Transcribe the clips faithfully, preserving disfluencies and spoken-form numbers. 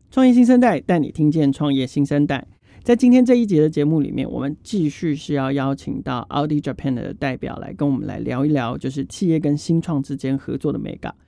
創業新生代帶你聽見創業新生代。在今天這一節的節目裡面，我們繼續是要邀請到 Audi Japan 的代表來跟我們來聊一聊，就是企業跟新創之間合作的美感。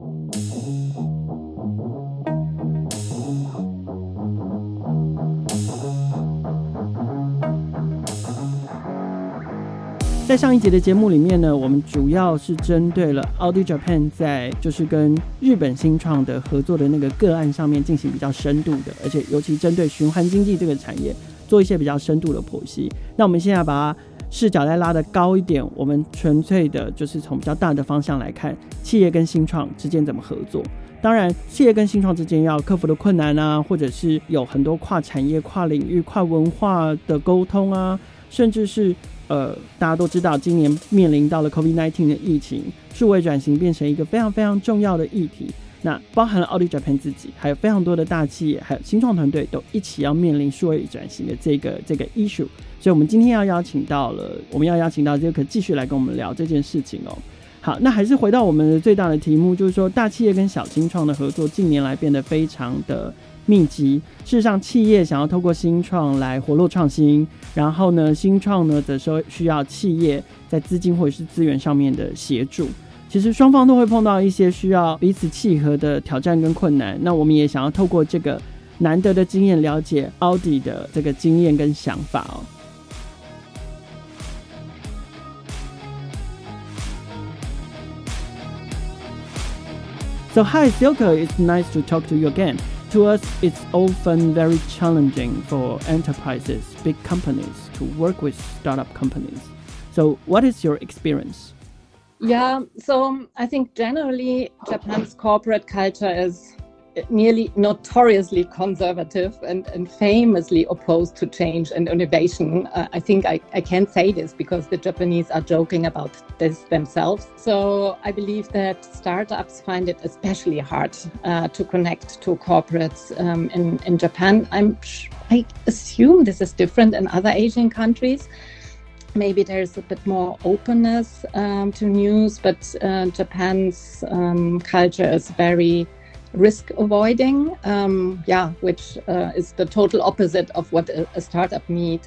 在上一節的節目裡面呢，我們主要是針對了 Audi Japan 在就是跟日本新創的合作的那個個案上面進行比較深度的，而且尤其針對循環經濟這個產業做一些比較深度的剖析。那我們現在把它視角再拉得高一點，我們純粹的就是從比較大的方向來看，企業跟新創之間怎麼合作。當然，企業跟新創之間要克服的困難啊，或者是有很多跨產業、跨領域、跨文化的溝通啊，甚至是呃，大家都知道，今年面臨到了 COVID 十九 的疫情，數位轉型變成一個非常非常重要的議題。那包含了 Audi Japan 自己，還有非常多的大企業，還有新創團隊，都一起要面臨數位轉型的這個這個 issue。所以，我們今天要邀請到了，我們要邀請到這個繼續來跟我們聊這件事情哦。好，那還是回到我們的最大的題目，就是說，大企業跟小新創的合作，近年來變得非常的密集。事實上，企業想要透過新創來活絡創新，然後呢，新創呢則說需要企業在資金或者是資源上面的協助。其實雙方都會碰到一些需要彼此契合的挑戰跟困難。那我們也想要透過這個難得的經驗，了解 Audi 的這個經驗跟想法哦。So hi Silke, it's nice to talk to you again. To us, it's often very challenging for enterprises, big companies, to work with startup companies. So what is your experience? Yeah, so I think generally Japan's corporate culture is nearly notoriously conservative and, and famously opposed to change and innovation. Uh, I think I, I can say this because the Japanese are joking about this themselves. So I believe that startups find it especially hard uh, to connect to corporates um, in, in Japan. I'm, I assume this is different in other Asian countries. Maybe there's a bit more openness um, to news, but uh, Japan's um, culture is very risk avoiding, um, yeah, which uh, is the total opposite of what a, a startup needs.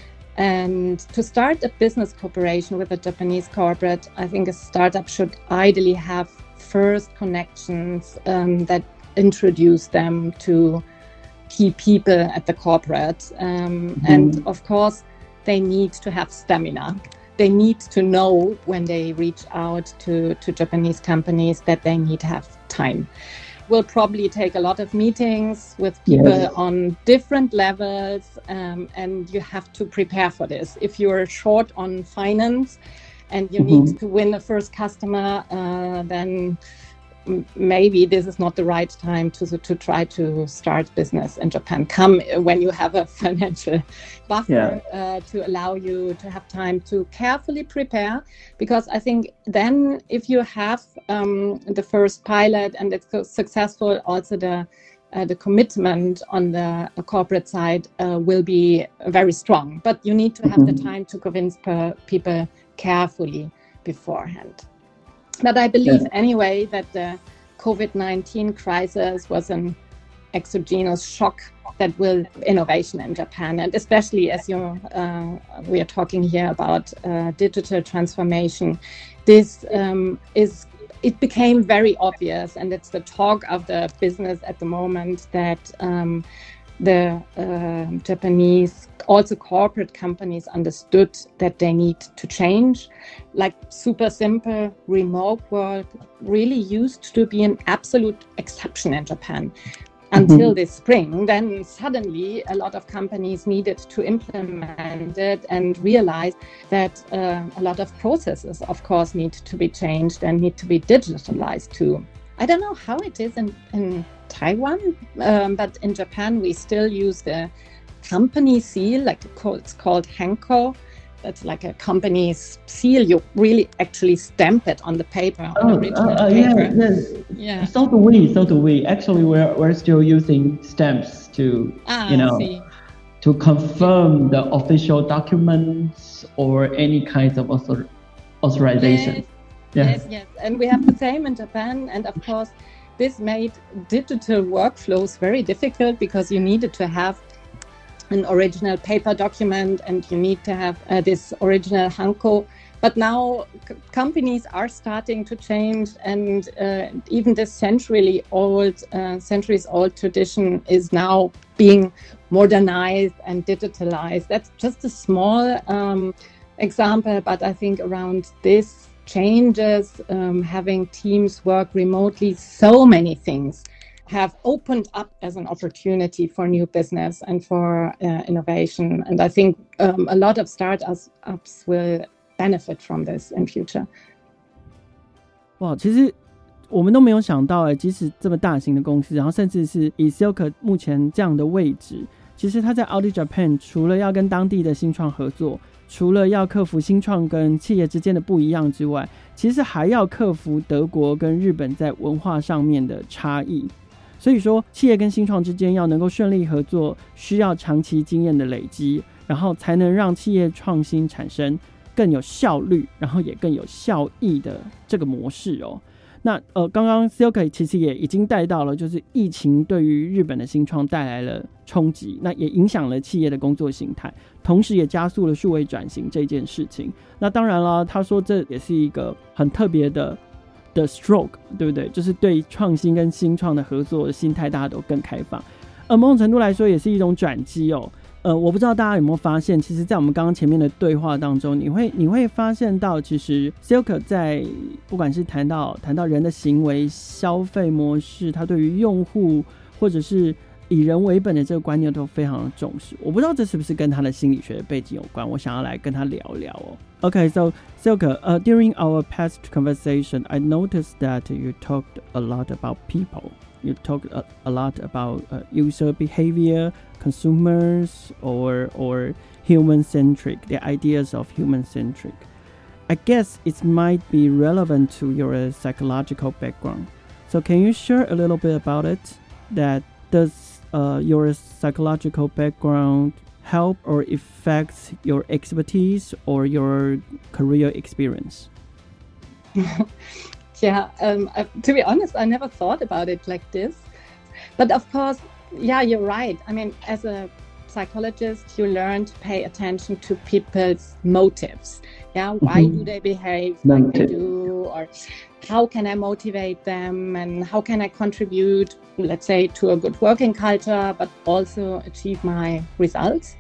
And to start a business cooperation with a Japanese corporate, I think a startup should ideally have first connections um, that introduce them to key people at the corporate. Um, mm-hmm. And of course, they need to have stamina. They need to know when they reach out to, to Japanese companies that they need to have time. Will probably take a lot of meetings with people yes. on different levels, um, and you have to prepare for this. If you're short on finance and you mm-hmm. need to win the first customer, uh, then maybe this is not the right time to to try to start business in Japan. Come when you have a financial buffer yeah. uh, to allow you to have time to carefully prepare. Because I think then if you have um, the first pilot and it's successful, also the uh, the commitment on the corporate side uh, will be very strong. But you need to have mm-hmm. the time to convince per people carefully beforehand. But I believe yeah. anyway that the COVID nineteen crisis was an exogenous shock that will innovation in Japan. And especially as you uh, we are talking here about uh, digital transformation, this um, is it became very obvious, and it's the talk of the business at the moment that um, the uh, Japanese, also corporate companies, understood that they need to change. Like super simple, remote work really used to be an absolute exception in Japan until mm-hmm. this spring. Then suddenly a lot of companies needed to implement it and realize that uh, a lot of processes, of course, need to be changed and need to be digitalized too. I don't know how it is in, in Taiwan, um, but in Japan we still use the company seal, like it's called Henko. That's like a company's seal. You really actually stamp it on the paper, on oh, the original uh, uh, paper. Yeah, yes. yeah. So do we. So do we. Actually, we're we're still using stamps to, ah, you know, see. to confirm the official documents or any kinds of author- authorization. Yes. Yeah. Yes, yes, and we have the same in Japan, and of course, this made digital workflows very difficult because you needed to have an original paper document and you need to have uh, this original Hanko. But now c- companies are starting to change, and uh, even this century old, uh, centuries old tradition is now being modernized and digitalized. That's just a small um, example, but I think around this changes, um, having teams work remotely, so many things have opened up as an opportunity for new business and for uh, innovation. And I think um, a lot of startups ups will benefit from this in future. 哇，其实我们都没有想到哎，即使这么大型的公司，然后甚至是以 Silke 目前这样的位置，其實他在 Audi Japan 除了要跟當地的新創合作，除了要克服新創跟企業之間的不一樣之外，其實還要克服德國跟日本在文化上面的差異。所以說，企業跟新創之間要能夠順利合作，需要長期經驗的累積，然後才能讓企業創新產生更有效率，然後也更有效益的這個模式哦。那呃，剛剛 Silke 其實也已經帶到了，就是疫情對於日本的新創帶來了衝擊，那也影響了企業的工作形態，同時也加速了數位轉型這件事情。那當然了，他說這也是一個很特別的的 stroke， 對不對？就是對創新跟新創的合作的心態，大家都更開放。呃，某種程度來說，也是一種轉機哦。呃，我不知道大家有沒有發現，其實在我們剛剛前面的對話當中，你會你會發現到，其實 Silke 在不管是談到談到人的行為、消費模式，他對於用戶或者是以人為本的這個觀念都非常的重視。我不知道這是不是跟他的心理學的背景有關，我想要來跟他聊聊哦。Okay, so Silke, uh, during our past conversation, I noticed that you talked a lot about people. You talked a, a lot about uh, user behavior, consumers, or or human-centric, the ideas of human-centric. I guess it might be relevant to your psychological background. So can you share a little bit about it? That does uh, your psychological background help or affect your expertise or your career experience? Yeah, um, I, to be honest, I never thought about it like this. But of course, yeah, you're right. I mean, as a psychologist, you learn to pay attention to people's motives. Yeah, why mm-hmm. do they behave like Motive. they do? Or how can I motivate them? And how can I contribute, let's say, to a good working culture, but also achieve my results?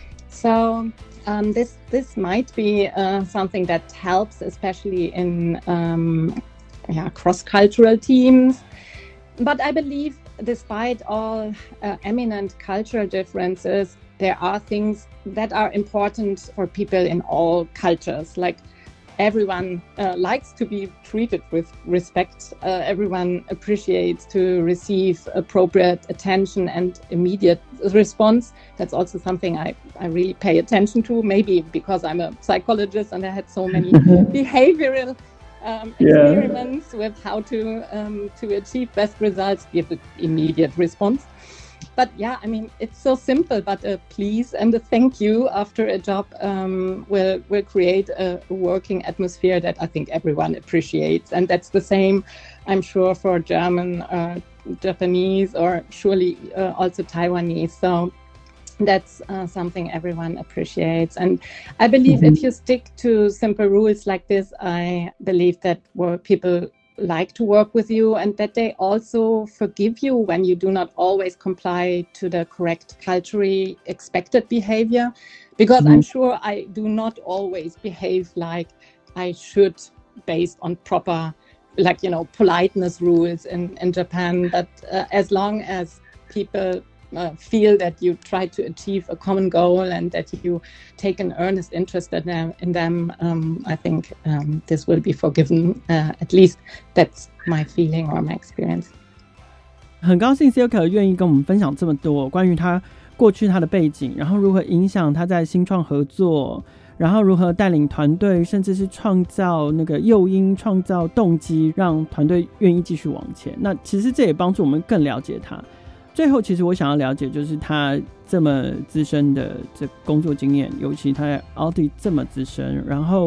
So um, this this might be uh, something that helps, especially in um, yeah, cross-cultural teams. But I believe despite all uh, eminent cultural differences, there are things that are important for people in all cultures. Like everyone uh, likes to be treated with respect. Uh, everyone appreciates to receive appropriate attention and immediate response. That's also something I, I really pay attention to, maybe because I'm a psychologist and I had so many behavioral Um, experiments yeah. with how to um, to achieve best results, give an immediate response. But yeah, I mean, it's so simple, but a please and a thank you after a job um, will will create a working atmosphere that I think everyone appreciates. And that's the same, I'm sure, for German, uh, Japanese, or surely uh, also Taiwanese. So that's uh, something everyone appreciates. And I believe mm-hmm. if you stick to simple rules like this, I believe that work, people like to work with you, and that they also forgive you when you do not always comply to the correct culturally expected behavior. Because mm-hmm. I'm sure I do not always behave like I should based on proper, like, you know, politeness rules in, in Japan. But uh, as long as people Uh, feel that you try to achieve a common goal and that you take an earnest interest in them, in them um, I think um, this will be forgiven. Uh, at least that's my feeling or my experience. 很高興 Silke 願意跟我們分享這麼多關於他過去他的背景，然後如何影響他在新創合作，然後如何帶領團隊，甚至是創造那個誘因、創造動機，讓團隊願意繼續往前。那其實這也幫助我們更了解他。最後，其實我想要了解，就是他這麼資深的這工作經驗，尤其他在 Audi 這麼資深，然後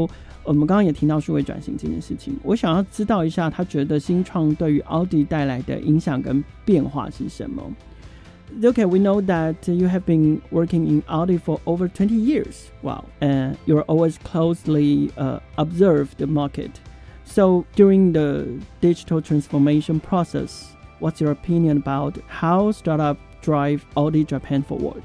我们剛剛也提到數位轉型這件事情，我想要知道一下，他覺得新創對於奧迪帶來的影響跟變化是什麼？ Okay, we know that you have been working in Audi for over twenty years. Wow, and you're always closely uh, observe the market. So during the digital transformation process, what's your opinion about how startup drive Audi Japan forward?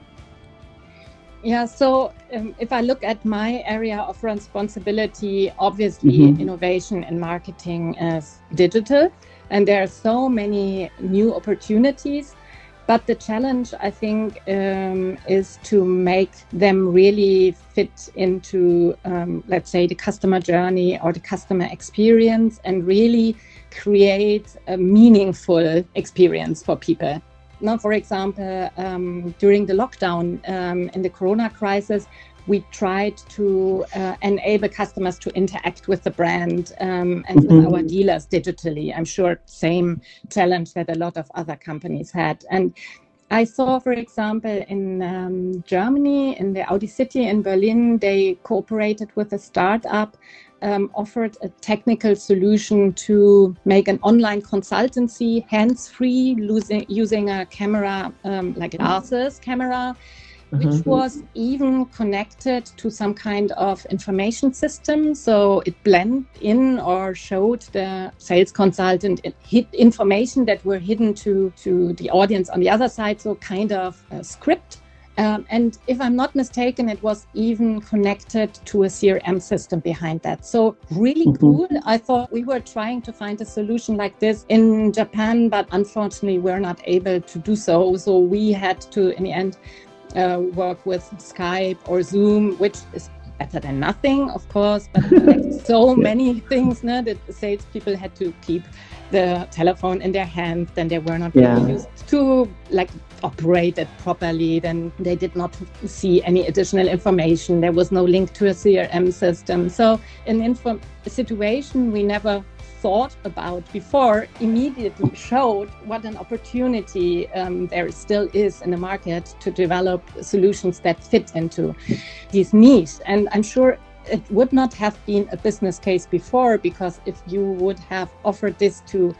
Yeah, so um, if I look at my area of responsibility, obviously mm-hmm. innovation and marketing is digital, and there are so many new opportunities. But the challenge, I think, um, is to make them really fit into, um, let's say, the customer journey or the customer experience, and really create a meaningful experience for people. Now, for example, um, during the lockdown um, in the Corona crisis, we tried to uh, enable customers to interact with the brand um, and mm-hmm. with our dealers digitally. I'm sure same challenge that a lot of other companies had. And I saw, for example, in um, Germany, in the Audi City in Berlin, they cooperated with a startup, um, offered a technical solution to make an online consultancy, hands-free, using, using a camera, um, like a glasses camera, which mm-hmm. was even connected to some kind of information system. So it blended in or showed the sales consultant hid information that were hidden to, to the audience on the other side. So kind of a script. Um, and if I'm not mistaken, it was even connected to a C R M system behind that. So really mm-hmm. cool. I thought we were trying to find a solution like this in Japan, but unfortunately we're not able to do so. So we had to, in the end, Uh, work with Skype or Zoom, which is better than nothing, of course, but like so many things no, that the salespeople had to keep the telephone in their hand, then they were not yeah. really used to like operate it properly, then they did not see any additional information. There was no link to a C R M system. So an info- a situation we never thought about before immediately showed what an opportunity um, there still is in the market to develop solutions that fit into these niches. And I'm sure it would not have been a business case before, because if you would have offered this to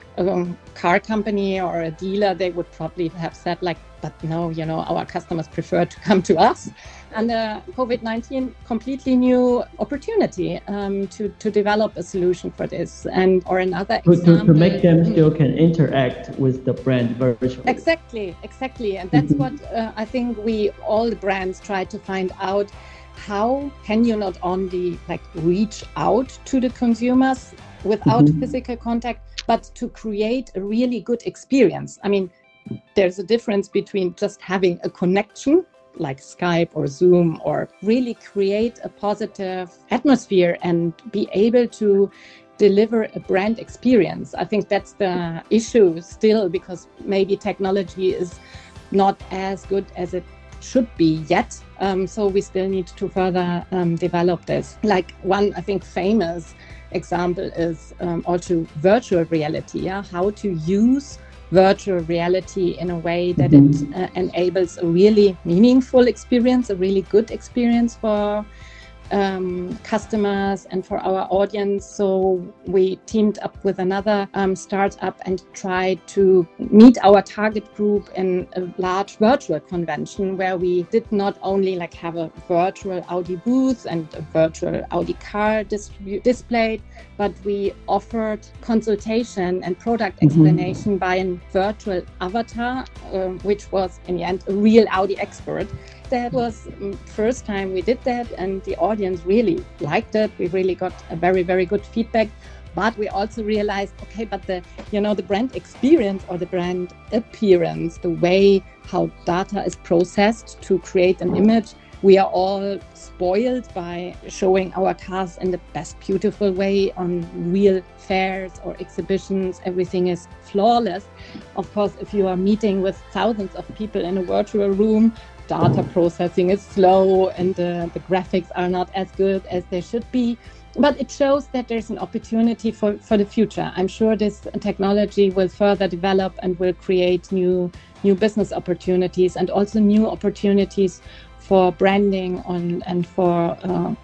a car company or a dealer, they would probably have said like, but no, you know, our customers prefer to come to us. And uh, COVID nineteen completely new opportunity um, to, to develop a solution for this. And or another to, example. To, to make them still can interact with the brand virtually. Exactly, exactly. And that's what uh, I think we, all the brands try to find out. How can you not only like reach out to the consumers without mm-hmm. physical contact, but to create a really good experience? I mean, there's a difference between just having a connection like Skype or Zoom, or really create a positive atmosphere and be able to deliver a brand experience. I think that's the issue still, because maybe technology is not as good as it should be yet. Um, so we still need to further um, develop this. Like one, I think, famous example is um, also virtual reality. Yeah? How to use virtual reality in a way that mm-hmm. it uh, enables a really meaningful experience, a really good experience for um, customers and for our audience. So we teamed up with another um, startup and tried to meet our target group in a large virtual convention, where we did not only like have a virtual Audi booth and a virtual Audi car distribu- displayed, but we offered consultation and product explanation mm-hmm. by a virtual avatar, uh, which was in the end a real Audi expert. That was the first time we did that, and the audience really liked it. We really got a very, very good feedback. But we also realized, okay, but the, you know, the brand experience or the brand appearance, the way how data is processed to create an image, we are all spoiled by showing our cars in the best beautiful way on real fairs or exhibitions. Everything is flawless. Of course, if you are meeting with thousands of people in a virtual room, data processing is slow and uh, the graphics are not as good as they should be. But it shows that there's an opportunity for, for the future. I'm sure this technology will further develop and will create new new business opportunities, and also new opportunities for branding on, and for uh,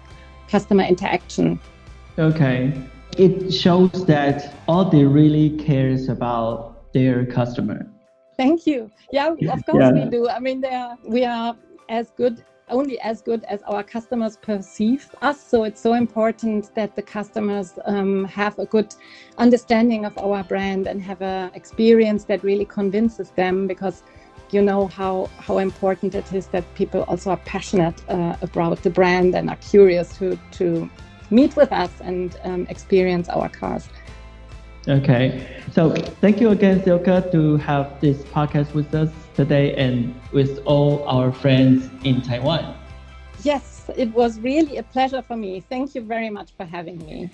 customer interaction. Okay. It shows that Audi really cares about their customer. Thank you. Yeah, of course yeah. we do. I mean, they are, we are as good, only as good as our customers perceive us. So it's so important that the customers um, have a good understanding of our brand and have an experience that really convinces them, because you know how, how important it is that people also are passionate uh, about the brand and are curious to, to meet with us and um, experience our cars. Okay, so thank you again, Silke, to have this podcast with us today and with all our friends in Taiwan. Yes, it was really a pleasure for me. Thank you very much for having me.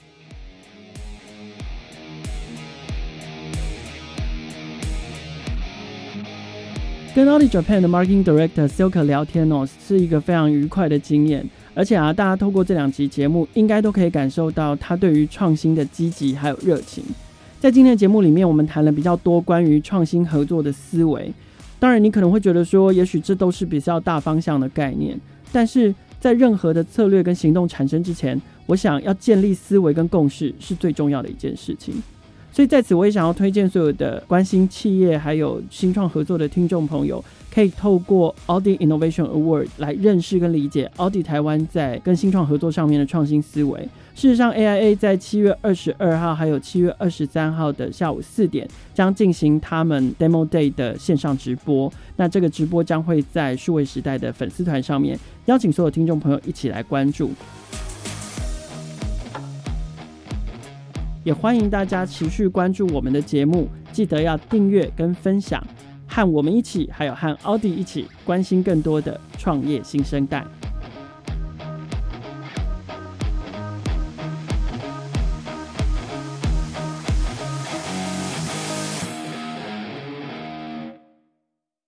跟 Audi Japan 的 Marketing Director Silke 聊天哦，是一個非常愉快的經驗。而且啊，大家透過這兩集節目，應該都可以感受到他對於創新的積極還有熱情。在今天的節目裡面，我們談了比較多關於創新合作的思維。當然，你可能會覺得說，也許這都是比較大方向的概念，但是在任何的策略跟行動產生之前，我想要建立思維跟共識是最重要的一件事情。所以在此我也想要推薦所有的關心企業還有新創合作的聽眾朋友，可以透過 Audi Innovation Award 來認識跟理解 Audi 台灣在跟新創合作上面的創新思維。事實上 A I A 在七月二十二號還有七月二十三號的下午四點將進行他們 Demo Day 的線上直播，那這個直播將會在數位時代的粉絲團上面邀請所有聽眾朋友一起來關注。也歡迎大家持續關注我們的節目，記得要訂閱跟分享，和我們一起，還有和 Audi 一起關心更多的創業新生代。